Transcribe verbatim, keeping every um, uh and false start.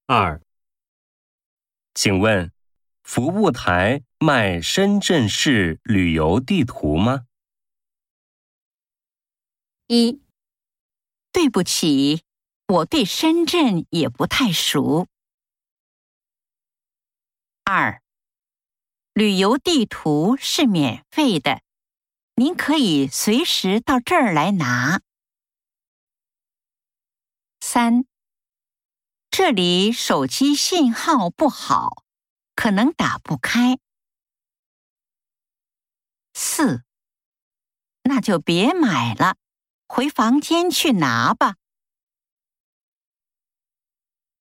二，请问，服务台卖深圳市旅游地图吗？ 一，对不起，我对深圳也不太熟。二，旅游地图是免费的，您可以随时到这儿来拿。三，这里手机信号不好，可能打不开。四，那就别买了，回房间去拿吧。